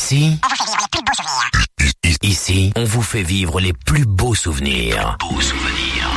Ici, ici, on vous fait vivre les plus beaux souvenirs. Beaux souvenirs.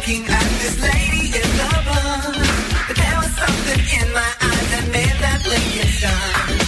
looking at this lady in the bar, but there was something in my eyes that made that blinking start.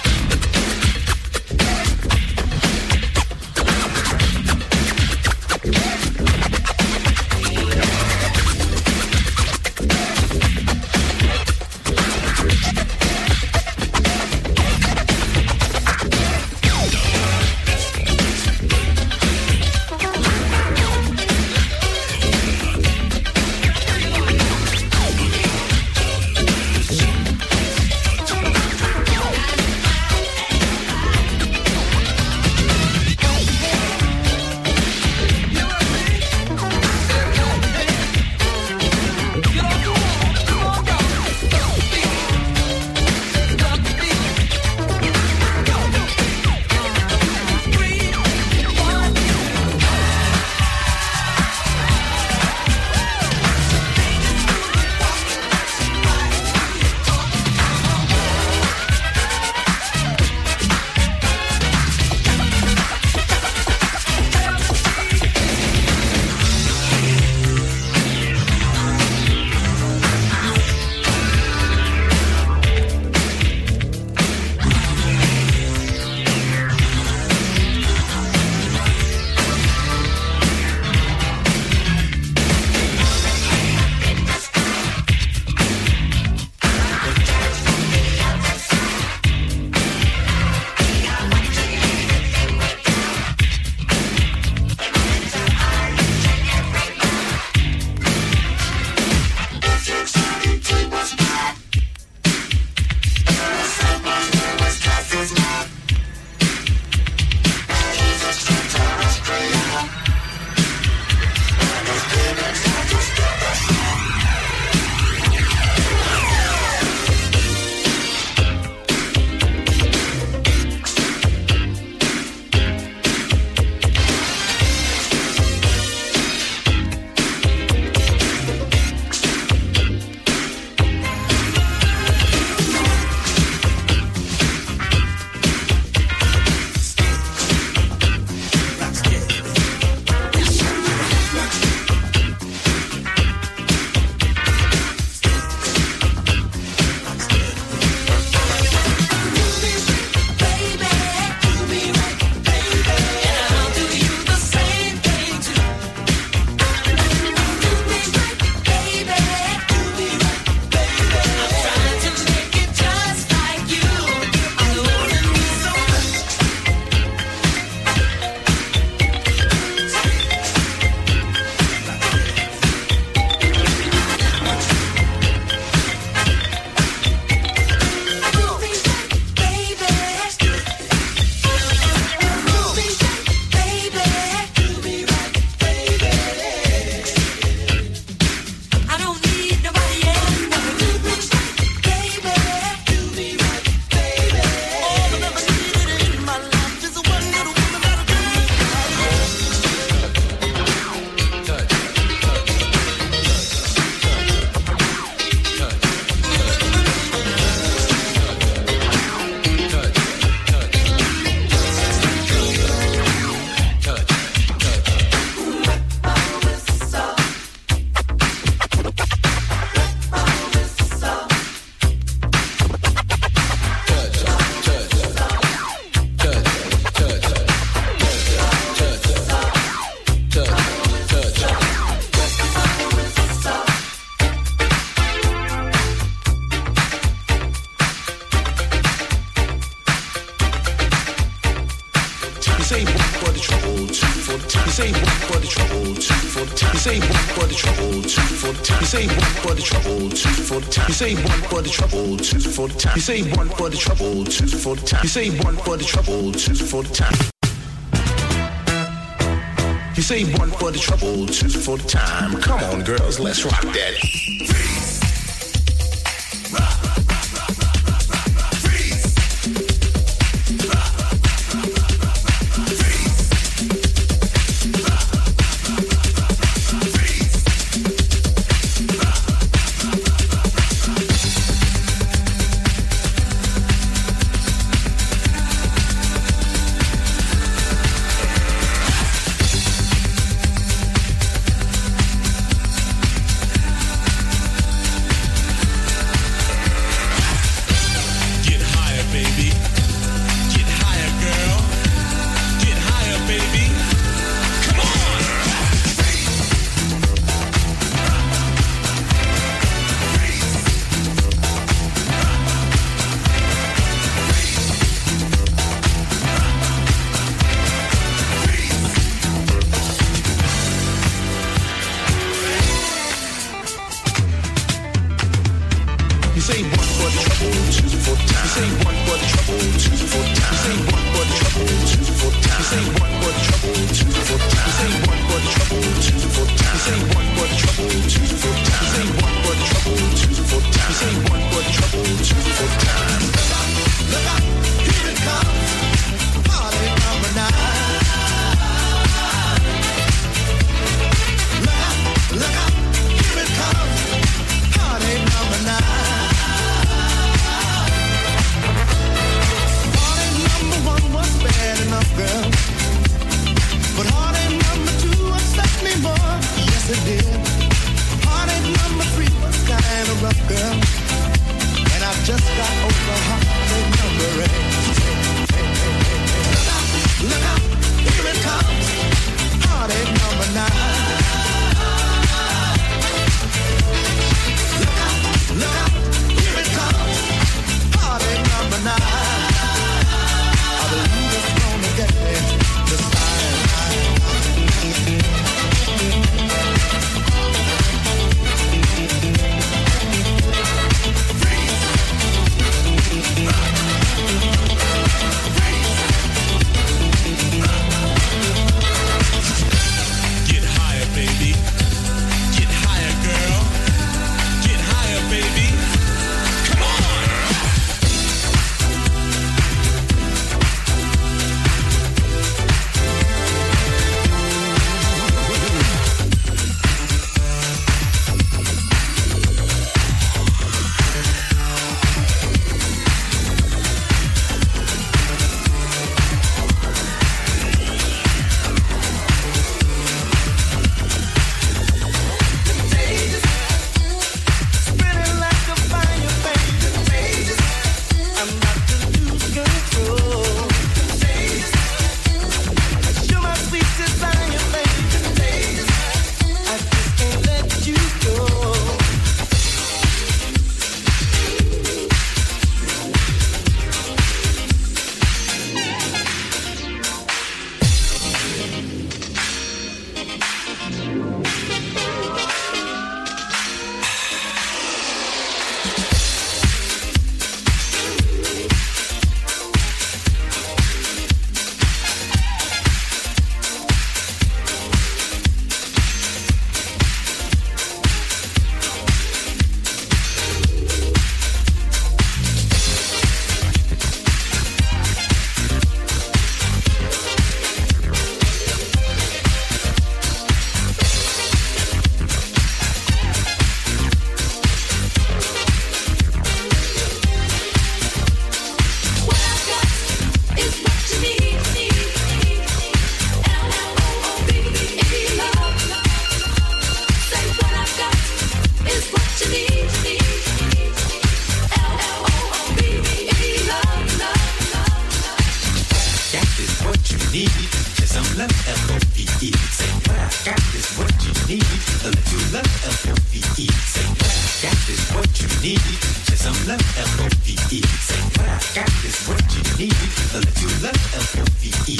say one for the trouble, two for the time. You say one for the trouble, two for the time. You say one for the trouble, two for the time. You say one for the trouble, two for the time. Come on, girls, let's rock that. You say one for the trouble, two for the time. You say one for the trouble, two for the time. You say one for the trouble, two for the time. You say one for the trouble, two for the time. You say one for the trouble, two for the time. You say one for the trouble, two for the time. You say one for the trouble, two for the time. You say one for the trouble, two for the time. Look out, here it comes. Party number 9. Look out, here it comes. Party number 9. Party number 1 was bad enough, girl. But party number 2 upset me more. Yes, it did. Party number 3 was kind of rough, girl. And I just got over party number 8. Look out, here it comes. Party number 9. Look out, here it comes. Party number 9. I believe it's gonna get me this time. Get higher, baby. Get higher, girl. Get higher, baby. Come on. Spinning like a fire, baby. I'm about to lose control. You're my sweet desire, baby. I just can't let you go. What I've got is what you need. L-O-V-E love. Say what I've got is what you need. L-O-V-E love. Got is what you need. Just some love, L-O-V-E. Say what I got is what you need. A little love, L-O-V-E. Say what I got is what you need. Just some love, L-O-V-E. Say what I got is what you need. A little love, L-O-V-E.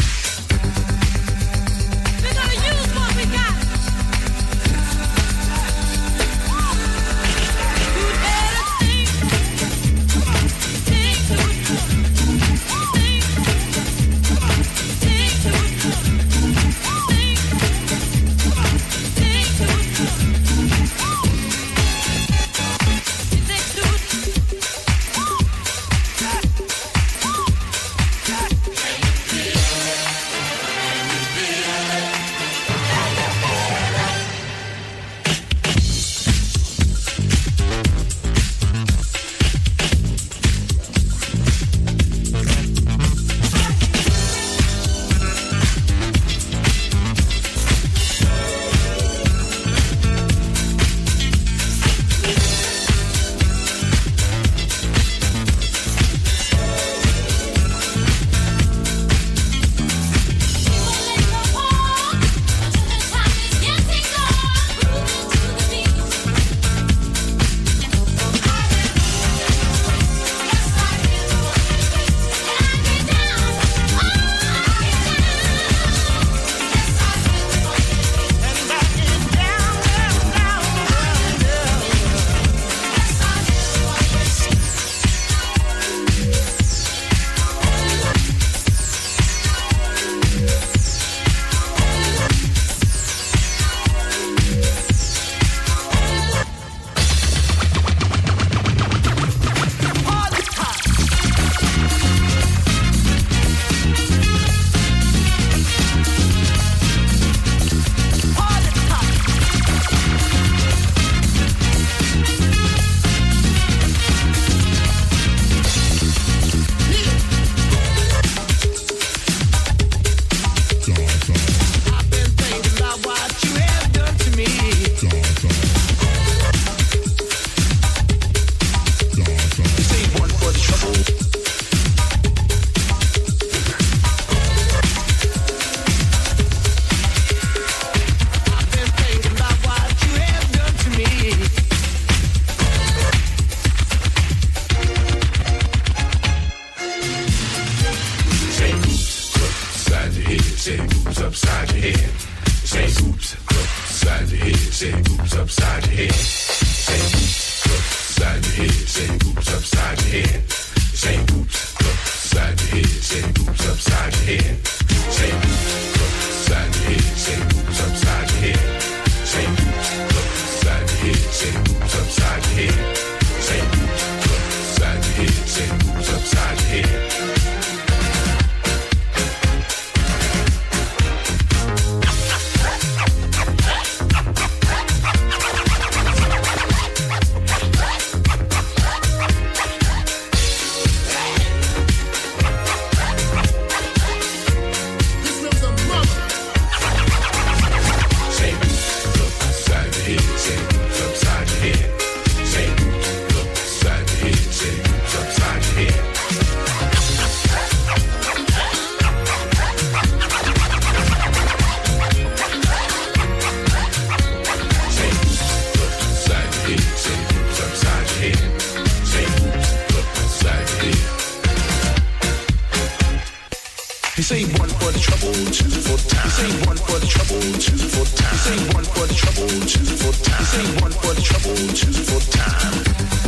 We're gonna use what we got. You better think to it. say boots upside your head. Say boots upside your head. Say boots upside your head. Say boots upside your head. Say boots upside your head. Say boots upside your head. Say boots upside your head. Say boots upside your head. Say boots upside your head. Say one for the trouble, two for time. Say one for the trouble, two for time. Say one for the trouble, two for time. Say one for the trouble, two for time.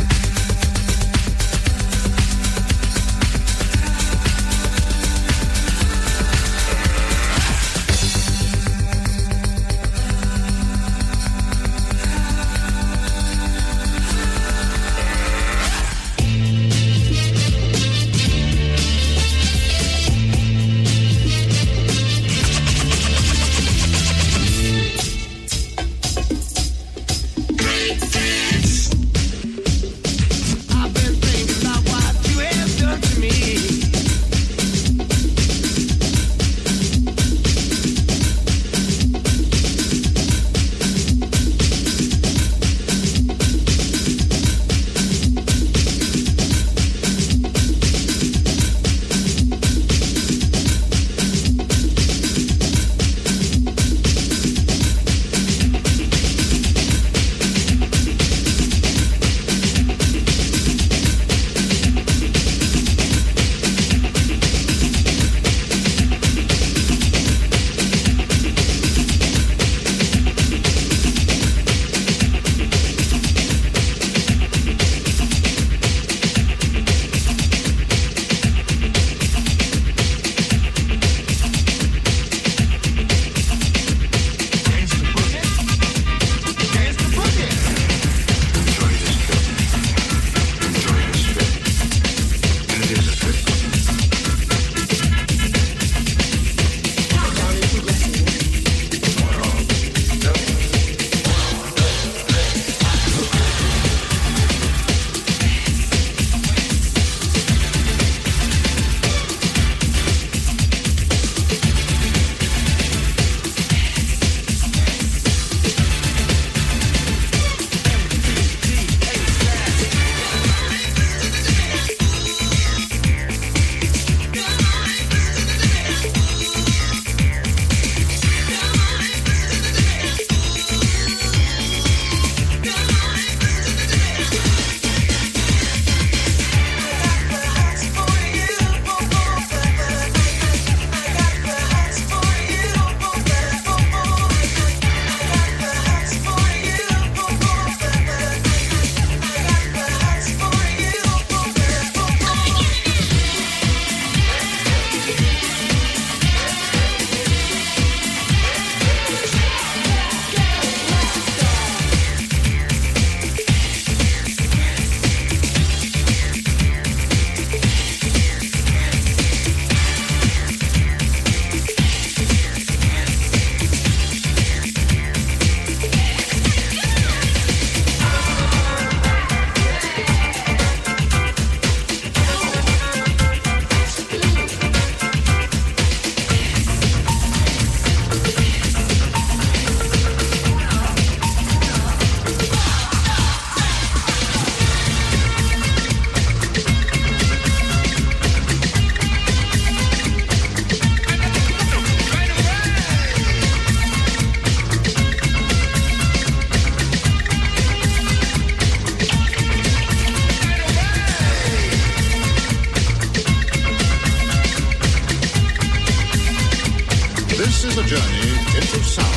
This is a journey into sound.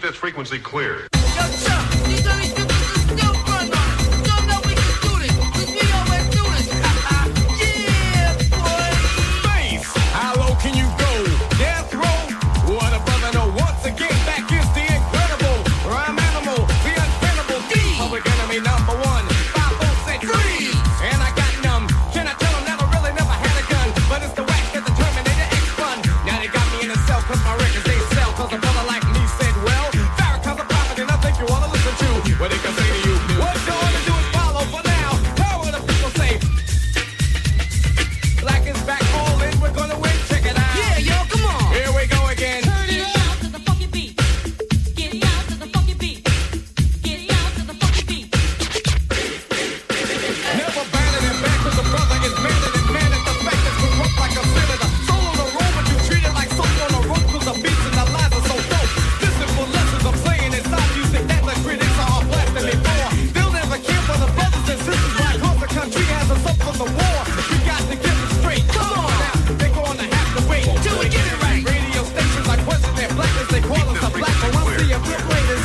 this frequency clear. Yo, Chuck, these are these people still front on it. Show them that we can do this, 'cause we always do this. Yeah, boy. Face, how low can you go? Death row? What a brother know. Once again, back is the incredible rhyme animal, the untenable D. Public enemy number one. 5 said freeze, and I got numb. Can I tell them that I really never had a gun? But it's the whack that the Terminator X fun. Now they got me in a cell 'cause my records they sell. 'Cause a brother like me said, well, Farrakhan's a prophet and I think you wanna listen to what they can say to you. What you wanna do is follow for now. Tell what the people say. Black is back, all in, we're gonna win. Check it out. Yeah, yo, come on. Here we go again. Turn it down to the funky beat. Get down to the funky beat. Get down to the funky beat. Never abandoning back 'cause a brother is man and man at the fact that we rock like a senator. Soul on the road, but you treat it like soap on the road 'cause the beats and the lines are so dope. Listen for lessons I'm saying inside music that the critics are blasting me for. They'll never care for the brothers and sisters right 'cause the country has us up for the war. We got to get it straight. Come on now, they're gonna have to wait Till we get it right. Radio stations like question their blackness, they call us a black, but we'll see a bit later.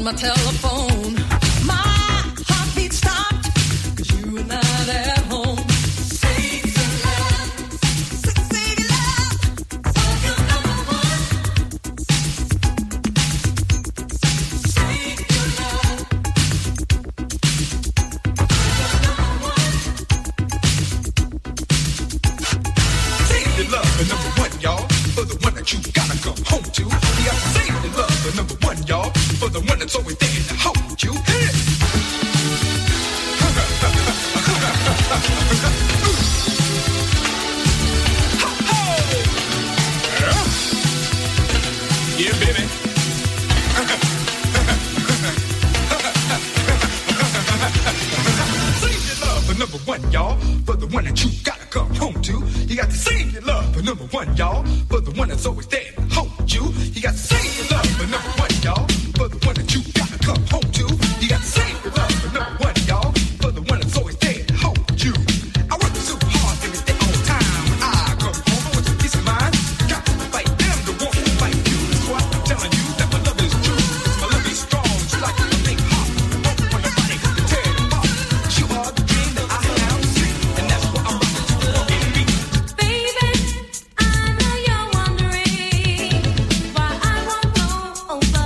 my telephone. My heartbeat stopped 'cause you were not at home. Save your love. Save your love. For your number one. Save your love. Save your love for number one, y'all. For the one that you gotta come home to. You gotta save your love for number one, y'all. For the one that's always there to hold you. Hit it. Yeah, baby. Save your love for number one, y'all. For the one that you gotta come home to. You got to save your love for number one, y'all. For the one that's always there to hold you. You got to save your love for number one, y'all. For the one that you gotta come home to. You got to save your love for number one, y'all. For the one that's always there to hold you. I work so hard every day on time. When I come home, I want some peace of mind. Got to fight them to want to fight you. That's why I'm telling you that my love is true. 'Cause my love is strong, just like a big heart. Won't want nobody to tear it apart. You are the dream that I have seen, and that's what I'm rocking to the walking beat. Baby, I know you're wondering why I won't go over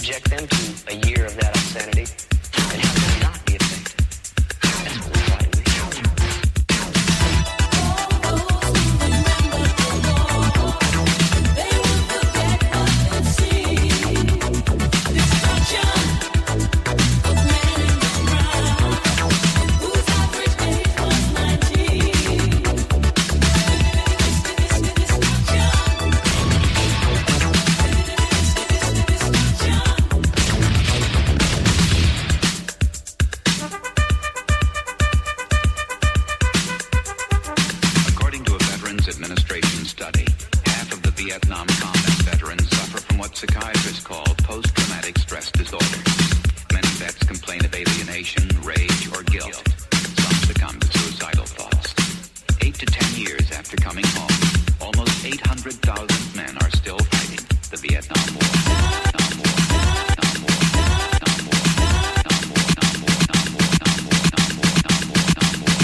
subject them to a year of that obscenity and have them not be affected. That's what we're trying to make. According to a Veterans Administration study, half of the Vietnam combat veterans suffer from what psychiatrists call post-traumatic stress disorder. Many vets complain of alienation, rage, or guilt. Some succumb to suicidal thoughts. 8 to 10 years after coming home, almost 800,000 men are still fighting the Vietnam War. Vietnam War. Vietnam War. Vietnam War. Vietnam War. Vietnam War. Vietnam War. Vietnam War. Vietnam War. Vietnam War.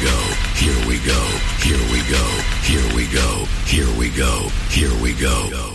Here we go.